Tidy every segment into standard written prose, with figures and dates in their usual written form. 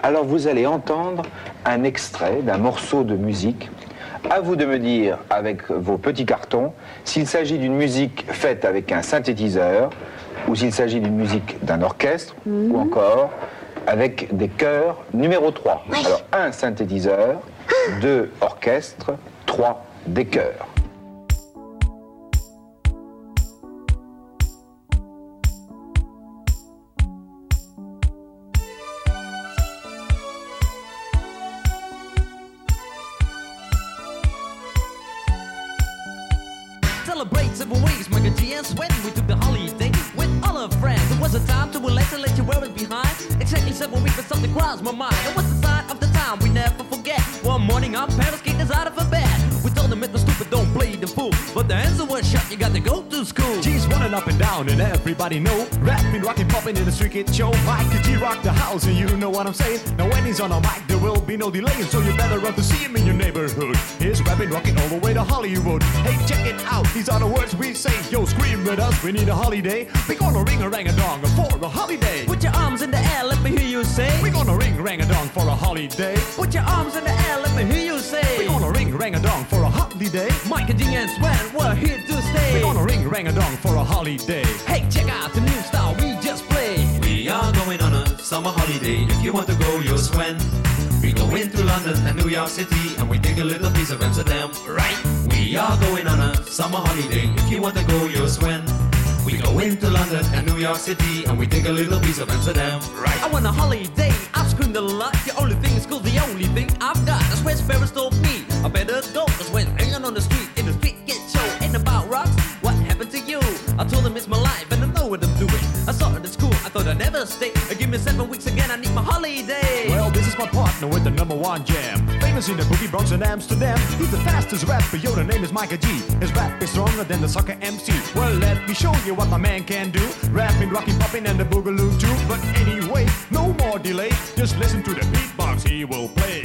Alors vous allez entendre un extrait d'un morceau de musique. À vous de me dire, avec vos petits cartons, s'il s'agit d'une musique faite avec un synthétiseur, ou s'il s'agit d'une musique d'un orchestre, ou encore avec des chœurs numéro 3. Oui. Alors 1 synthétiseur, 2 orchestre, 3 des chœurs. Celebrate 7 weeks, Michael G and Sweat. We took the holiday with all our friends. It was a time to relax and let you wear it behind. Exactly 7 weeks, but something crossed my mind. It was the sign of the time we never forget. One morning, our parents kicked us out of a bed. We told them it was stupid, don't play the fool. But the answer was shut, you got to go to school. G's running up and down, and everybody know. Rapping, rocking, popping in the street kid show. Michael G rock the house, and you know what I'm saying. Now when he's on a mic, there will be no delay, so you better run to see him in your neighborhood. He's rapping, rocking all the way to Hollywood. Hey, check it out, these are the words we say. Yo, scream with us, we need a holiday. We gonna ring a rang a dong for a holiday. Put your arms in the air, let me hear you say. We gonna ring rang a dong for a holiday. Put your arms in the air, let me hear you say. We gonna ring rang a dong for a holiday. Michael G and Sweat, we're here to stay. We gonna ring rang a dong for a holiday. Hey, check out the new style we just played. We are going on a summer holiday. If you want to go, you'll swim. We go into London and New York City, and we take a little piece of Amsterdam, right? We are going on a summer holiday. If you want to go, you'll swim. We go into London and New York City, and we take a little piece of Amsterdam, right? I want a holiday, I've screamed a lot. The only thing is cool, the only thing I've got. That's where Sparrows told me I better go. Cause when hanging on the street, in the street get show. Ain't about rocks, what happened to you? I told them it's my life and I know what I'm doing. I saw it at school, I thought I'd never stay. Give me 7 weeks again, I need my holiday. Well, this is my partner with the #1 jam. Famous in the boogie Bronx and Amsterdam. He's the fastest rapper, yo, the name is Michael G. His rap is stronger than the soccer MC. Well, let me show you what my man can do. Rapping, rocking, popping, and the boogaloo too. But anyway, no more delay. Just listen to the beatbox he will play.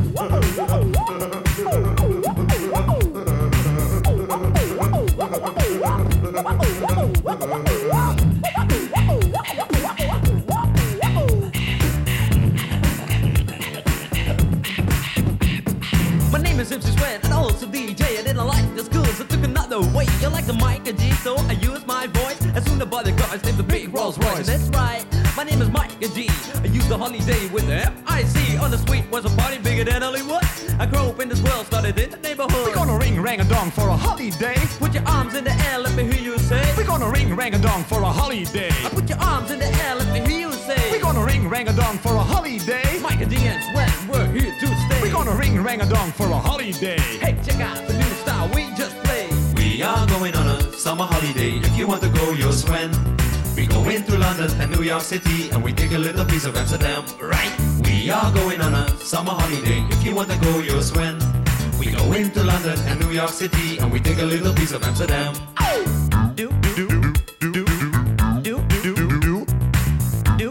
My name is MC Sweat and also DJ. I didn't like the school, so took another way. You like the Michael G, so I used my voice. As soon as the bodyguards named the big Rolls Royce. And that's right, my name is Michael G. I used the holiday with the F-I-C. On the street was a party bigger than Hollywood. I grew up in this world, started in the neighborhood. We're gonna ring rang a dong for a holiday. Put your arms in the air, let me hear you say. We're gonna ring rang a dong for a holiday. I put your arms in the air, let me hear you say. We're gonna ring rang a dong for a holiday. Michael G and Sweat, we're here to stay. We're gonna ring rang a dong for a holiday. Hey, check out the new style we just played. We are going on a summer holiday. If you want to go, you'll swim. We go into London and New York City, and we take a little piece of Amsterdam, right? We are going on a summer holiday. If you want to go, you'll swim. We go into London and New York City, and we take a little piece of Amsterdam. Do, Do, do, do, do, do, do, do, do. do,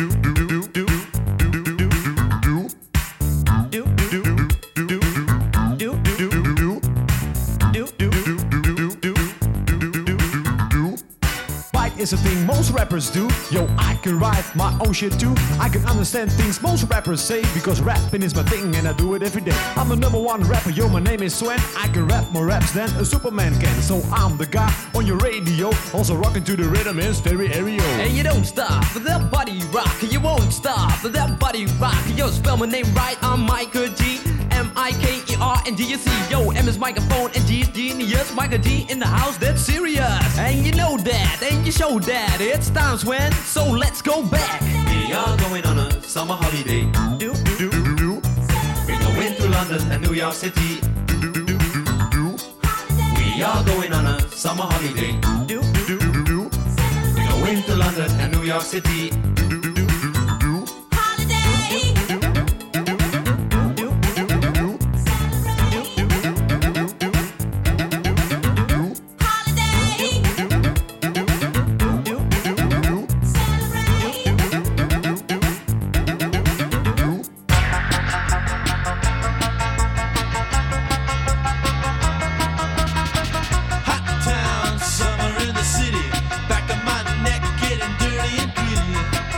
Is a thing most rappers do. Yo, I can write my own shit too. I can understand things most rappers say, because rapping is my thing and I do it every day. I'm the #1 rapper, yo, my name is Swen. I can rap more raps than a Superman can. So I'm the guy on your radio, also rocking to the rhythm in stereo. And you don't stop with that body rock. You won't stop with that body rock. Yo, spell my name right, I'm Michael G. M-I-K-E-R-N-G-U-C. Yo, M is microphone and G is genius. Michael G in the house, that's serious. And you know that, and you show that. It's time, Swen, so let's go back. We are going on a summer holiday. Do, Do, do, do. We go into London and New York City. We are going on a summer holiday. do, Do, do, do. We go into London and New York City. Hot town, summer in the city. Back of my neck getting dirty and gritty.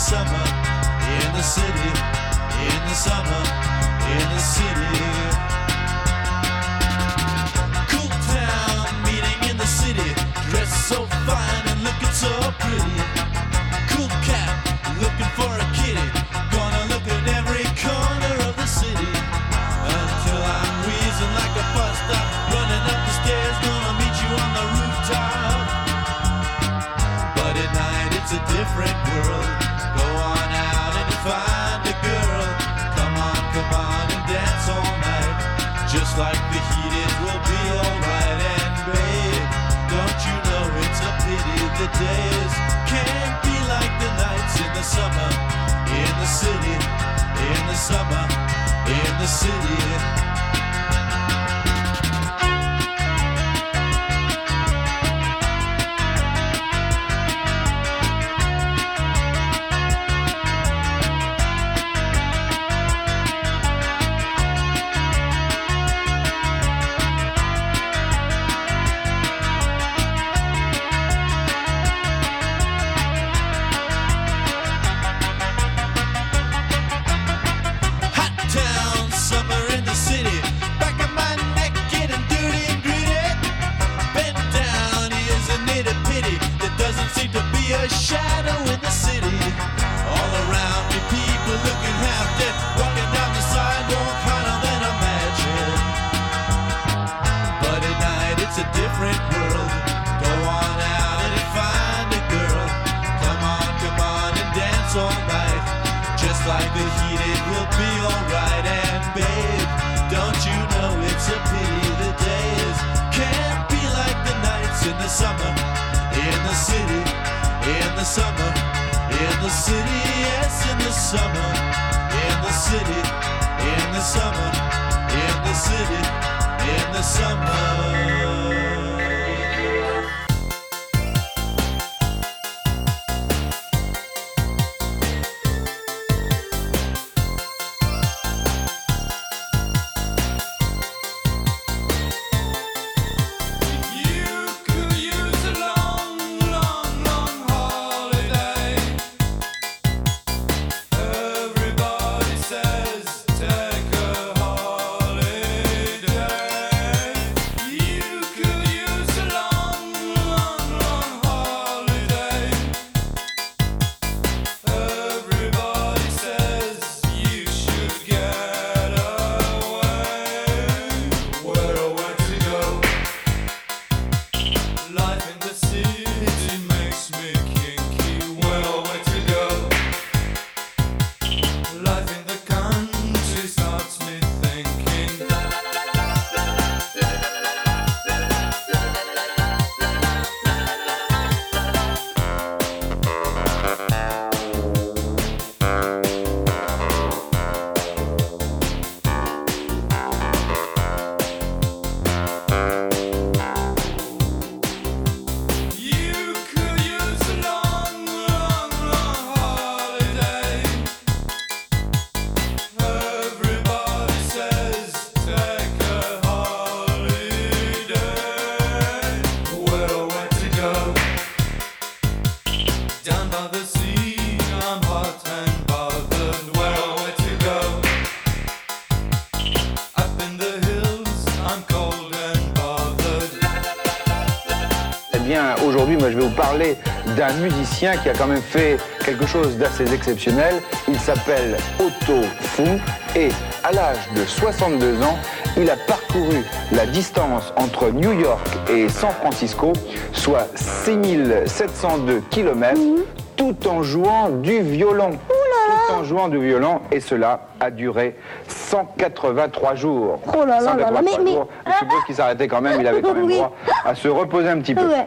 summer, in the city, in the summer, in the city. Cool town meeting in the city, dressed so fine and looking so pretty. Cool cat looking for a kitty, gonna look at every corner of the city until I'm wheezing like a bus stop, running up the stairs, gonna meet you on the rooftop. But at night it's a different world. Go on out and find a girl. Come on and dance all night. Just like the heat, it will be alright. And babe, don't you know it's a pity the days can't be like the nights in the summer, in the city, in the summer, in the city. Aujourd'hui, moi, je vais vous parler d'un musicien qui a quand même fait quelque chose d'assez exceptionnel. Il s'appelle Otto Funk et à l'âge de 62 ans, il a parcouru la distance entre New York et San Francisco, soit 6702 km, tout en jouant du violon. Tout en jouant du violon, et cela a duré 183 jours. Oh là là là là, mais... jours. Je suppose qu'il s'arrêtait quand même, il avait quand même droit à se reposer un petit peu. Ouais.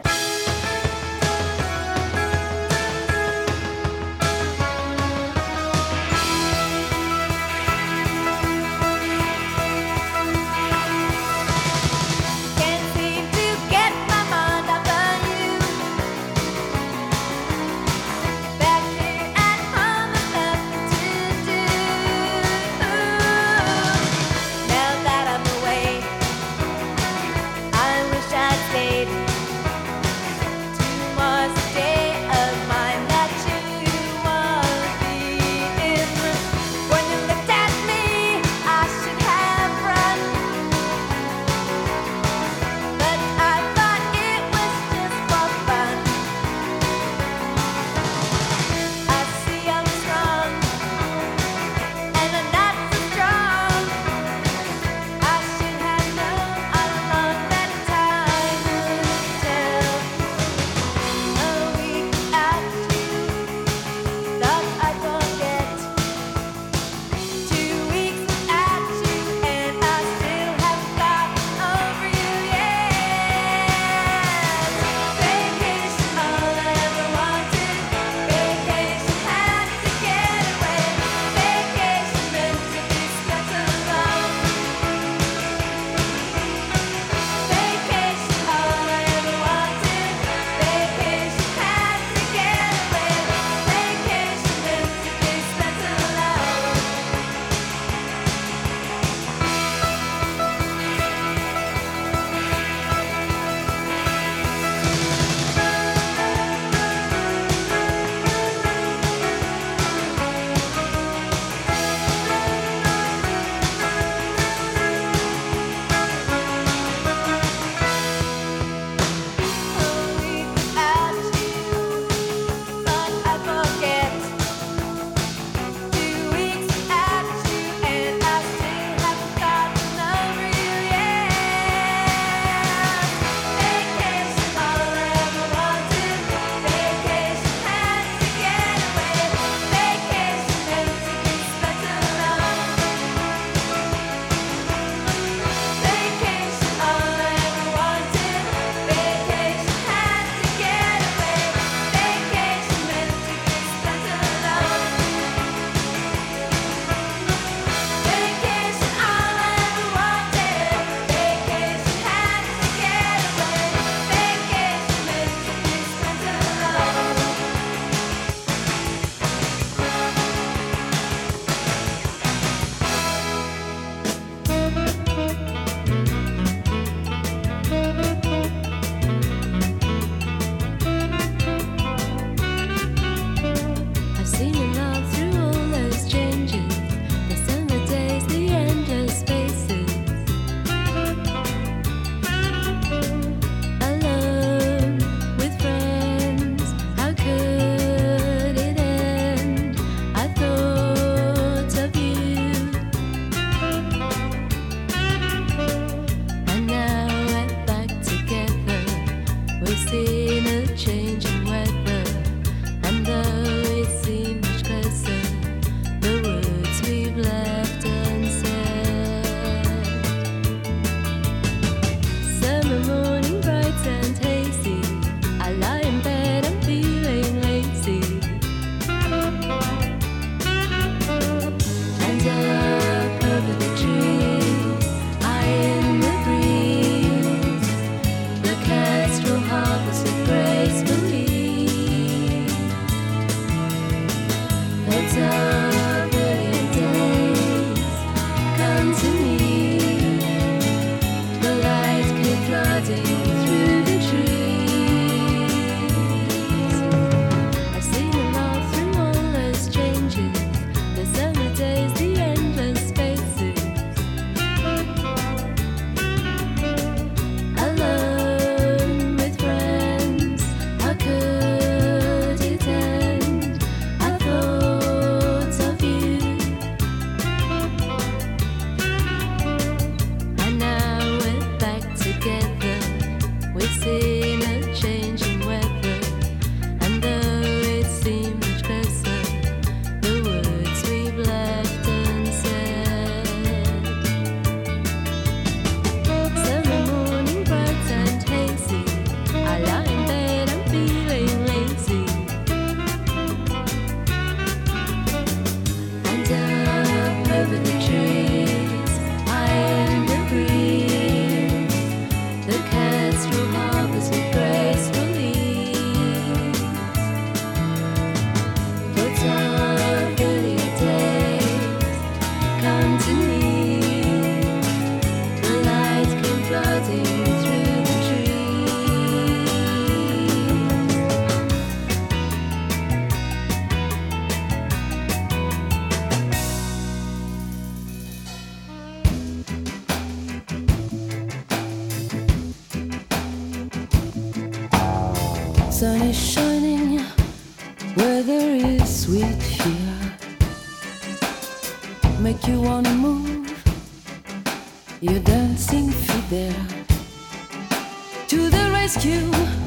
make you wanna move your dancing feet there. To the rescue,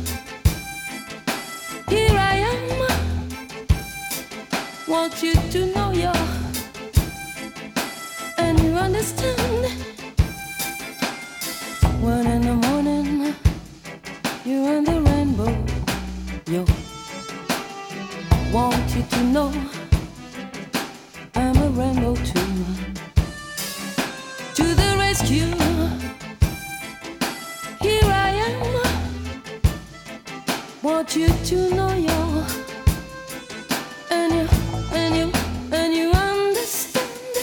here I am. Want you to know you're, and you understand. When in the morning you're in the rainbow, yo, want you to know I'm a rainbow too. To the rescue, here I am. Want you to know you're, and you understand.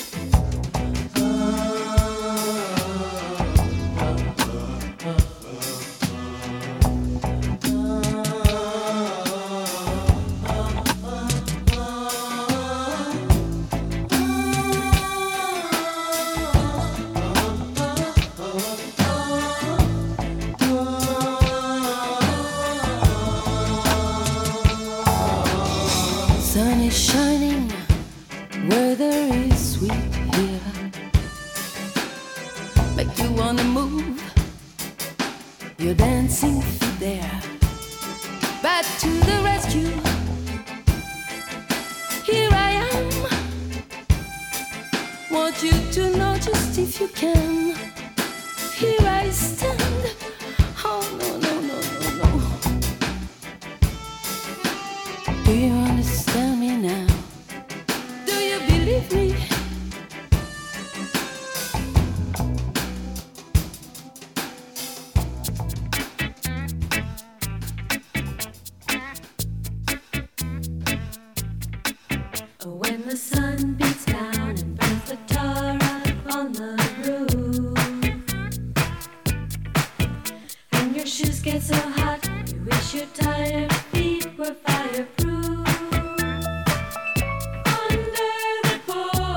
Sun is shining, weather is sweet here. Make you wanna move your dancing feet there. Back to the rescue, here I am. Want you to know just if you can. Here I stand. Oh no, no, no, no, no. Do you understand me now? Do you believe me? When the sun beats down and burns the tar up on the roof, and your shoes get so hot, you wish your tired feet were fireproof. Under the porch,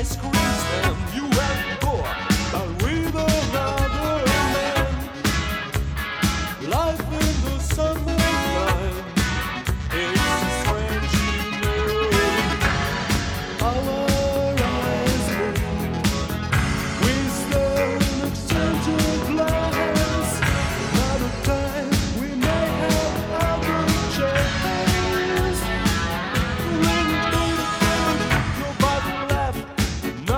I squeeze them, you have to go out with another man. Life in the summertime is a strange union. Our eyes meet, we stare exchange a glance. Another time we may have other chance. Nobody laughed,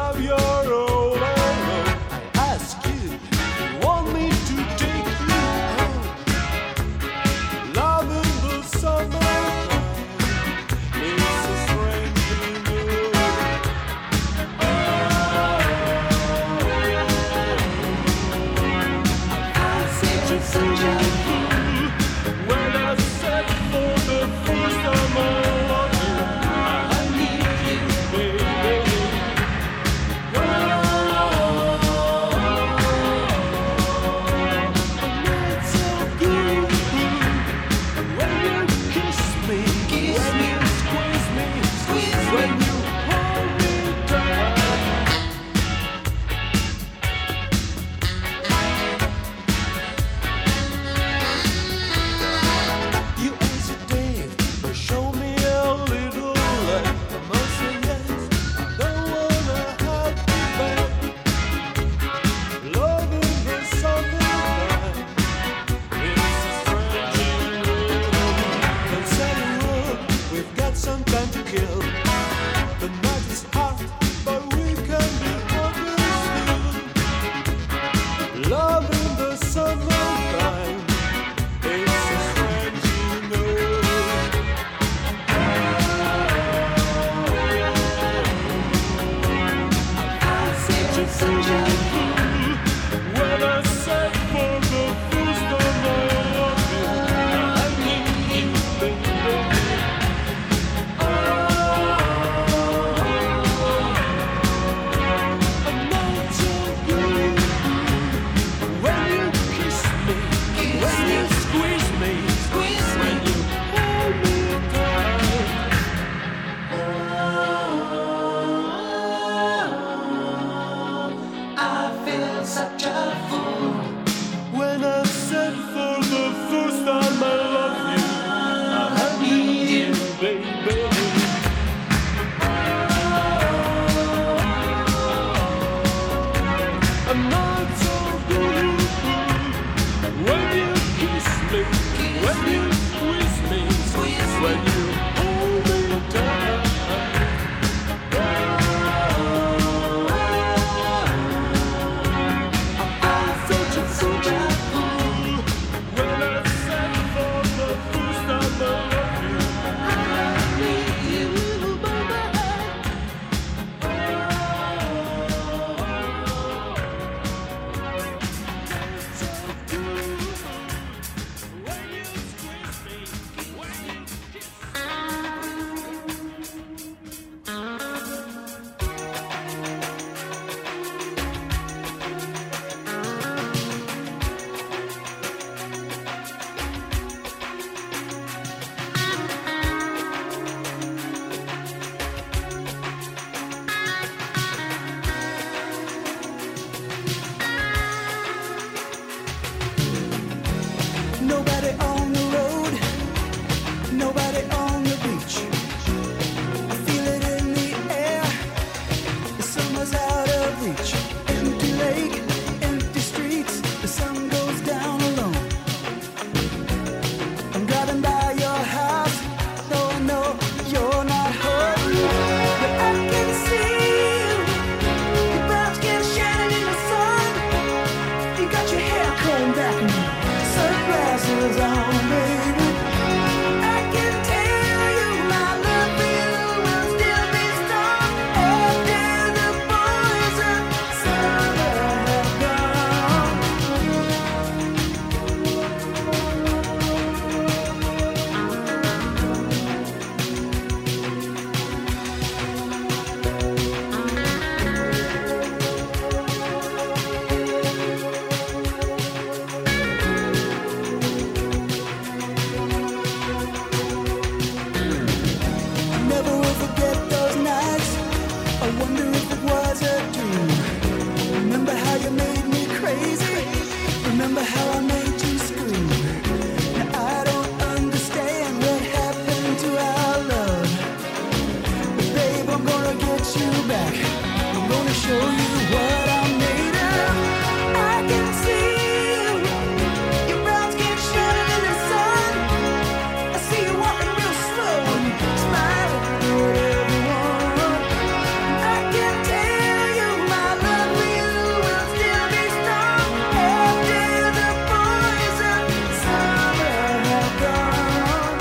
takes you back. I'm gonna show you what I'm made of. I can see you, your brown skin shining in the sun. I see you walking real slow and smiling at everyone. I can tell you my love for you will still be strong after the boys of summer have gone.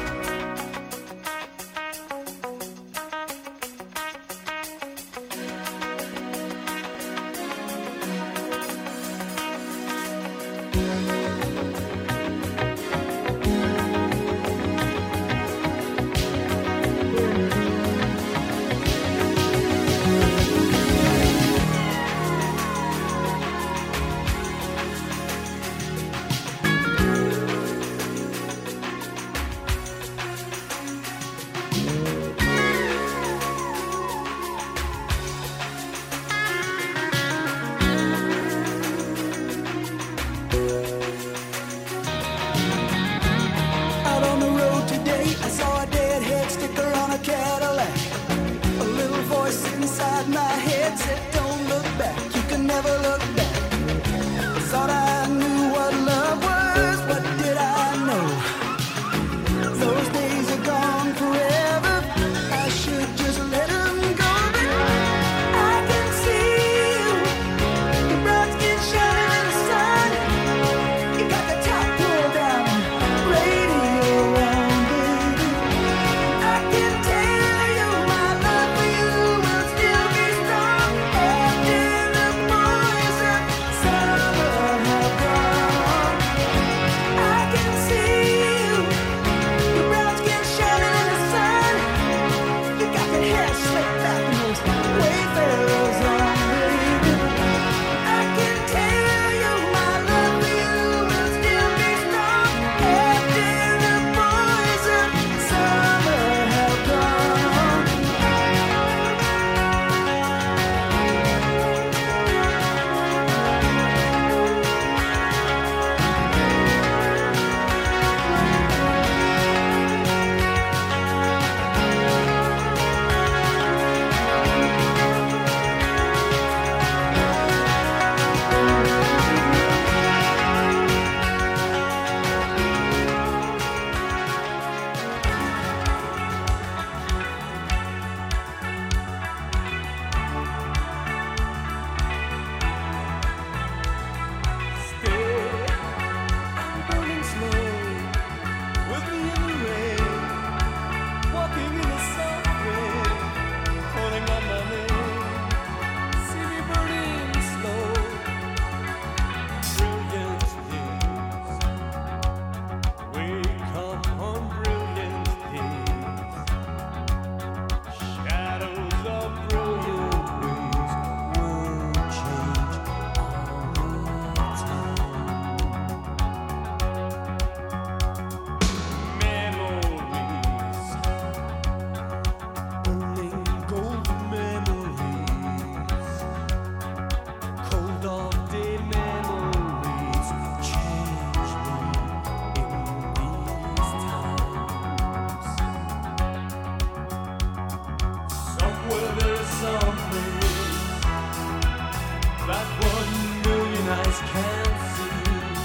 Out on the road today, I saw a deadhead sticker on a Cadillac. A little voice inside my head said, don't look back, you can never look back. I thought I knew what love was, what did I know? Those days are gone forever, I should just let them go. But I can see you, your brown skin shining in the sun. You got the top pulled down, radio on, baby. I can tell you my love for you will still be strong after the boys of summer have gone. I can see you, your brown skin shining in the sun. You got that hair slicked back and those wayfarers on, baby. I can tell you my love for you will still be strong after the boys of summer have gone. I'm burning slow, with me in the rain, walking in the subway, calling on my name. See me burning slow, brilliant days. Wake up on brilliant days. Shadows of brilliant ways will change all the time. Memories, only golden memories, cold all-day memories change me in these times. Somewhere there's something that 1,000,000 eyes can't see,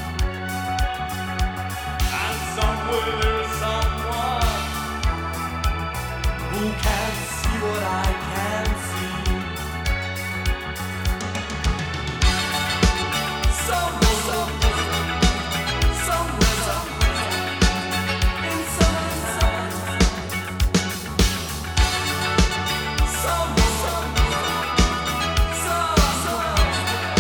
and somewhere there's someone who can't see what I can see. Somewhere, in some somewhere,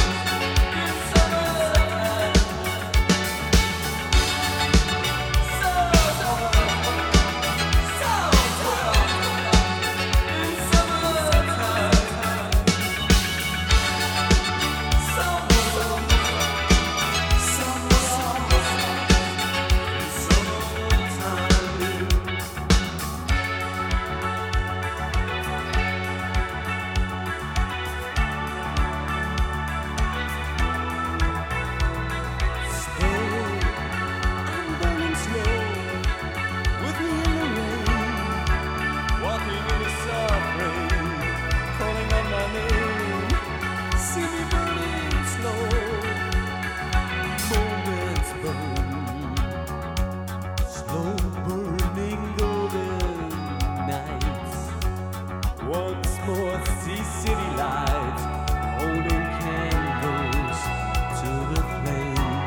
Once more see city lights holding candles to the flame.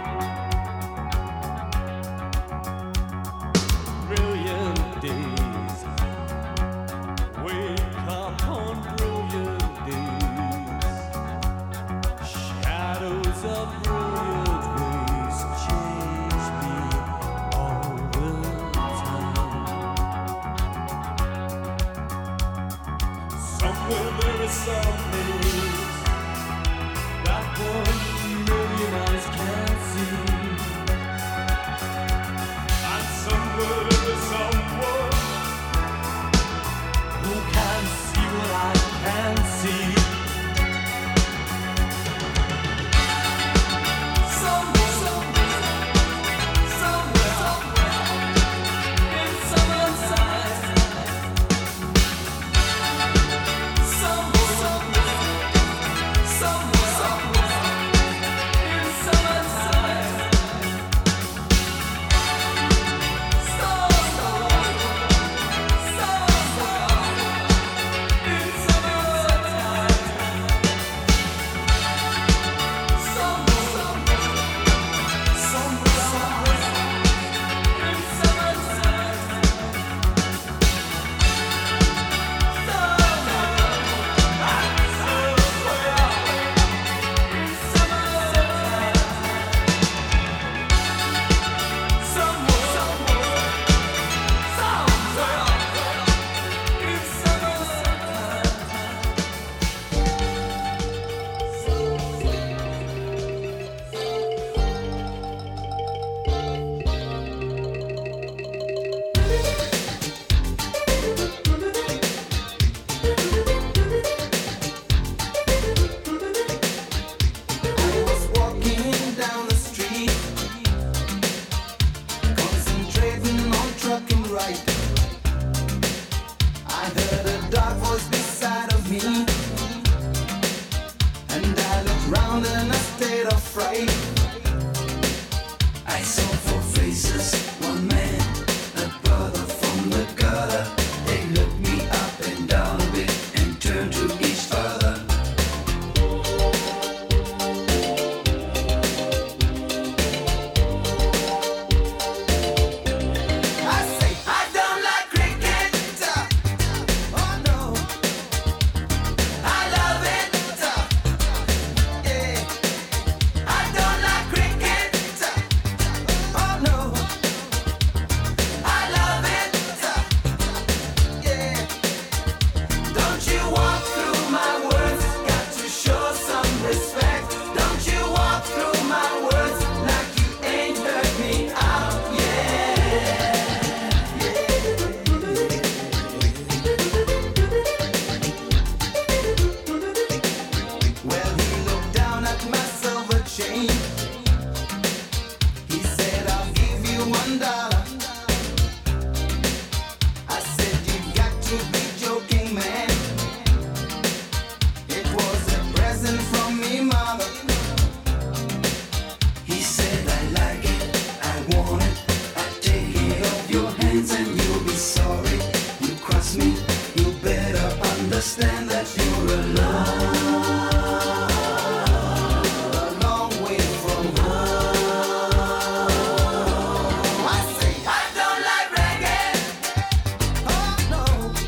Brilliant days wake up on brilliant days. Shadows of brilliant ways change me all the time. Somewhere there is some things that 1,000,000 eyes can't see. And somewhere there is someone who can see what I can't see. Somewhere in someone's eyes. Somewhere in someone's eyes. I saw four faces, one man, a brother from the gutter. They looked me up and down a bit and turned to each other. I say, I don't like cricket. Oh no, I love it. Yeah, I don't like cricket. Oh no, I love it. Yeah, don't you walk through my words? Got to show some respect. Don't you walk through my words like you ain't heard me out. Well, he looked down at my silver chain. He said, I'll give you $1. I said, you've got to be joking, man. It was a present from me, mother. He said, I like it, I want it. I'll take it off your hands and you'll be sorry. You cross me, you better understand that you're alone. A long way from home. I say, I don't like reggae. Oh no,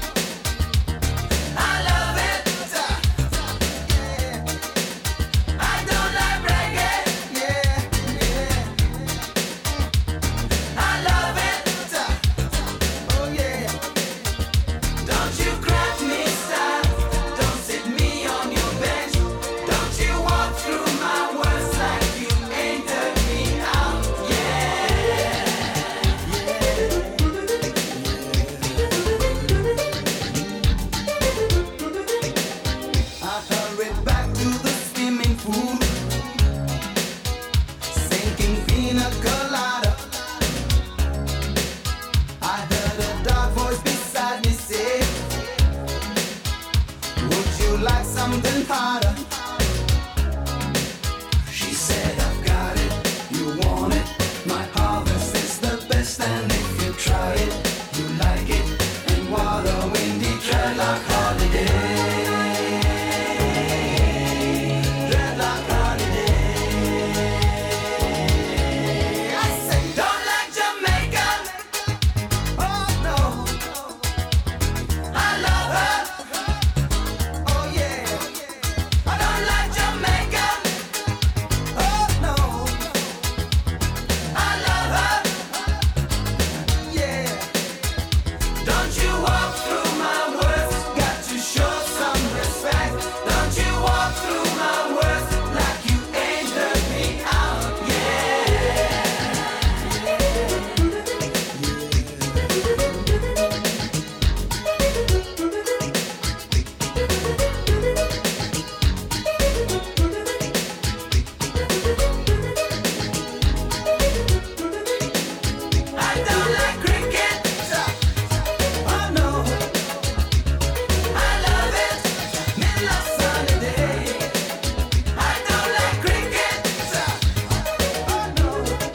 I love it. Yeah, I don't like reggae. Yeah, I love it. Oh yeah, don't you grab me, style. Don't sit me on your bench. Don't you walk through my words like you ain't heard me out. I hurried back to the swimming pool, sinking pina colada. I heard a dark voice beside me say, would you like something harder? She said, I've got it, you want it. My harvest is the best, and if you try it, you like it. And what a windy dreadlock. sunny day. Dreadlock holiday. I say, don't like Jamaica. Oh no, I love her. Oh yeah, I don't like Jamaica. Oh no, I love her. Yeah, don't you walk through my words, got to show some respect. Don't you walk through my words like you ain't heard me out. I don't like cricket. Oh no, I love it. Middle of sunny day. I don't like cricket. Oh no,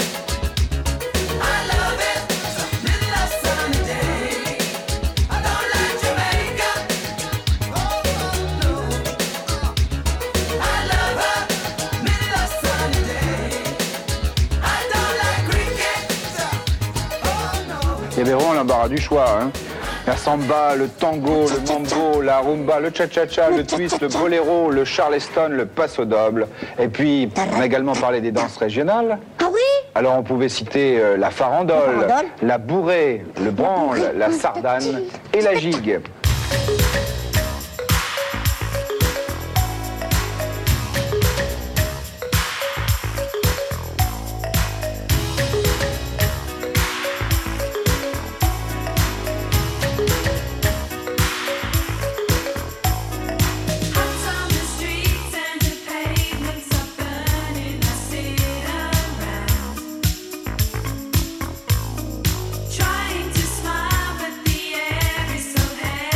I love it. Middle of sunny day. I don't like Jamaica. Oh no, I love her. Middle of sunny day. I don't like cricket. Oh no. Il y avait vraiment l'embarras du choix. Hein. La samba, le tango, le mambo, la rumba, le cha-cha-cha, le twist, le boléro, le charleston, le paso doble. Et puis, on a également parlé des danses régionales. Ah oui? Alors, on pouvait citer la farandole, La farandole. la bourrée, le branle, la sardane et la gigue. Out on the streets and the pavements are burning. I sit around, trying to smile, but the air is so heavy.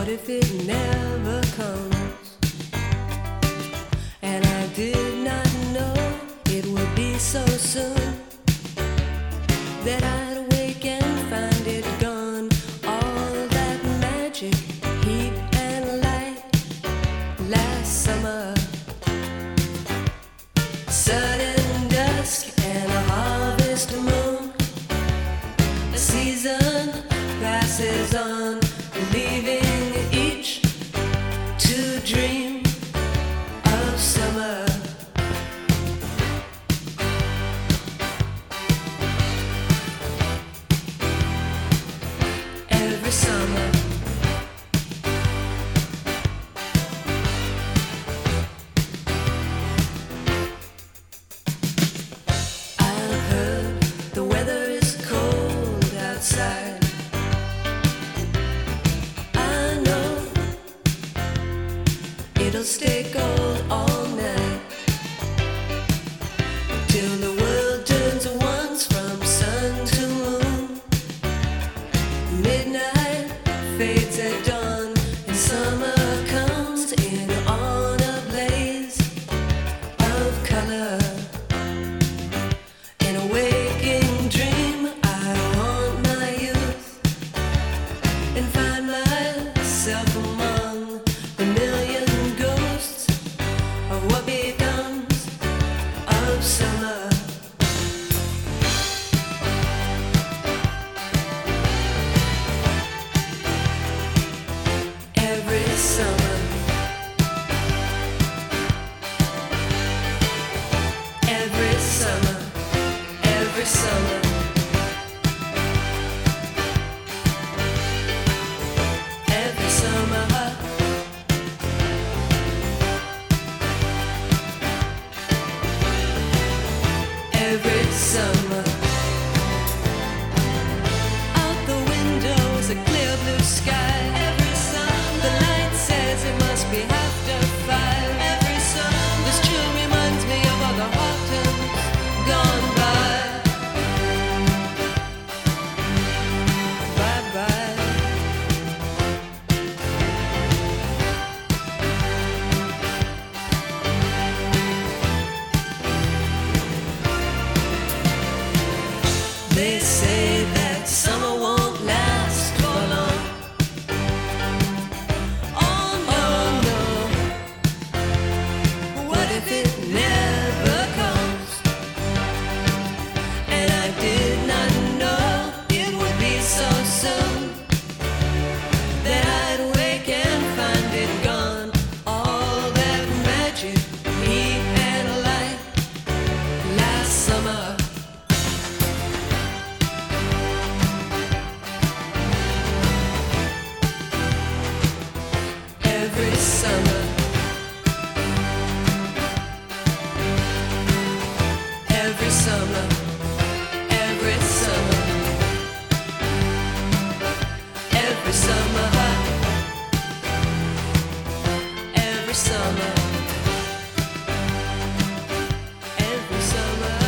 What if it never comes? And I did not know it would be so soon that I'd wake and find it gone. All that magic, heat and light last summer. Sudden dusk and a harvest moon. A season passes on, leaving each to dream of summer. Every summer. I've heard the weather is cold outside. I know it'll stay cold all night till the world turns once from sun to moon. Midnight fades at dawn, and summer comes in on a blaze of color. In a waking dream, I haunt my youth and find myself among the million ghosts of what becomes of summer. Every summer. Every summer. Every summer. Every summer. Every summer. Out the windows, a clear blue sky. Every summer. The light says it must be after 5. Every summer. This chill reminds me of all the autumns gone by. Bye bye. They say that summer won't last for long. Oh no, what if it never comes? And I did not know it would be so soon that I'd wake and find it gone. All that magic, heat and light last summer. Every summer. Every summer. Every summer. Every summer. Every summer. Every summer.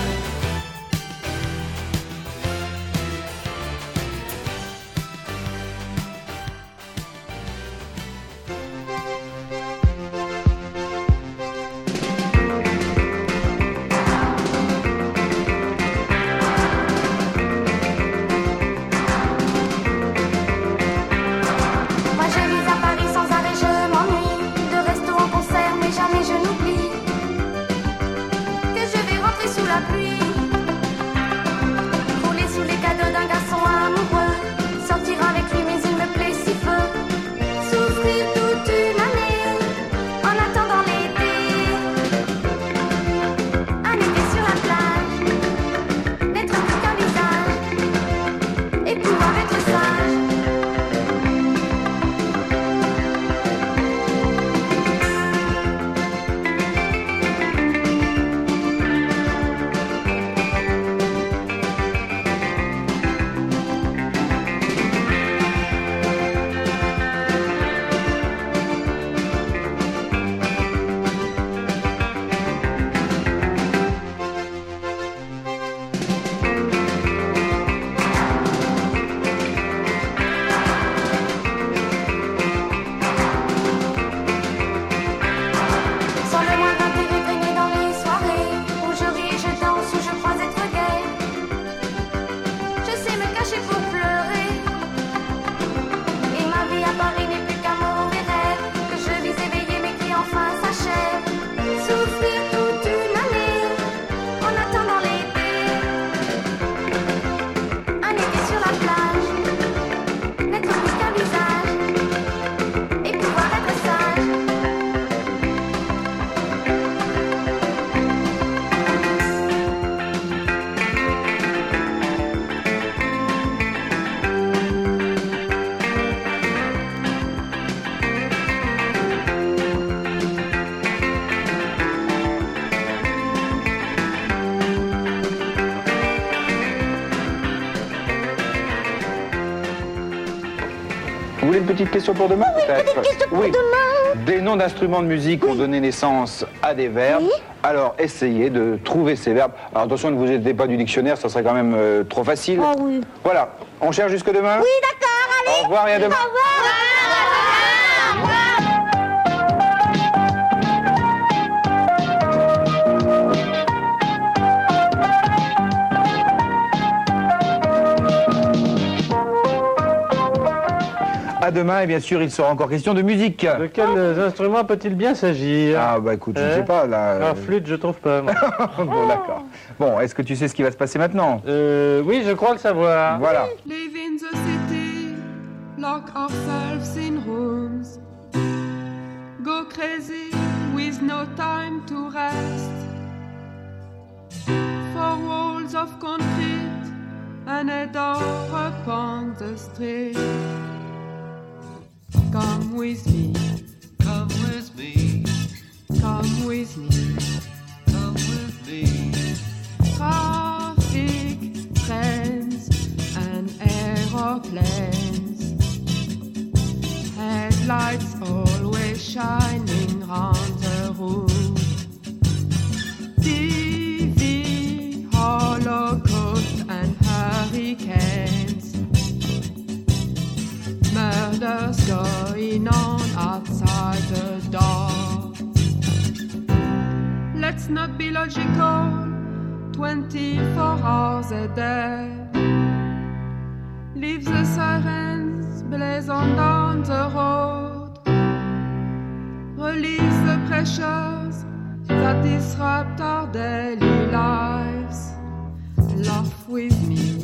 petite question pour demain, peut-être? Oui. Des noms d'instruments de musique ont donné naissance à des verbes. Alors, essayez de trouver ces verbes. Alors, attention, ne vous aidez pas du dictionnaire, ça serait quand même trop facile. Ah oui. Voilà. On cherche jusque demain? Oui, d'accord, allez. Au revoir et à demain. Au revoir. À demain, et bien sûr, il sera encore question de musique. De quels instruments peut-il bien s'agir? Ah, bah écoute, je ne sais pas, là... La flûte, je trouve pas. moi. Bon, d'accord. Bon, est-ce que tu sais ce qui va se passer maintenant? Oui, je crois le savoir. Voilà. Live in the city, lock ourselves in rooms, go crazy with no time to rest. 4 walls of concrete and a door upon the street. Come with me, Come with me, come with me. come with me. Traffic, trains and aeroplanes, headlights always shining round the room. TV, Holocaust and hurricanes, murders going on outside the door. Let's not be logical, 24 hours a day. Leave the sirens blaze on down the road. Release the pressures that disrupt our daily lives. Laugh with me,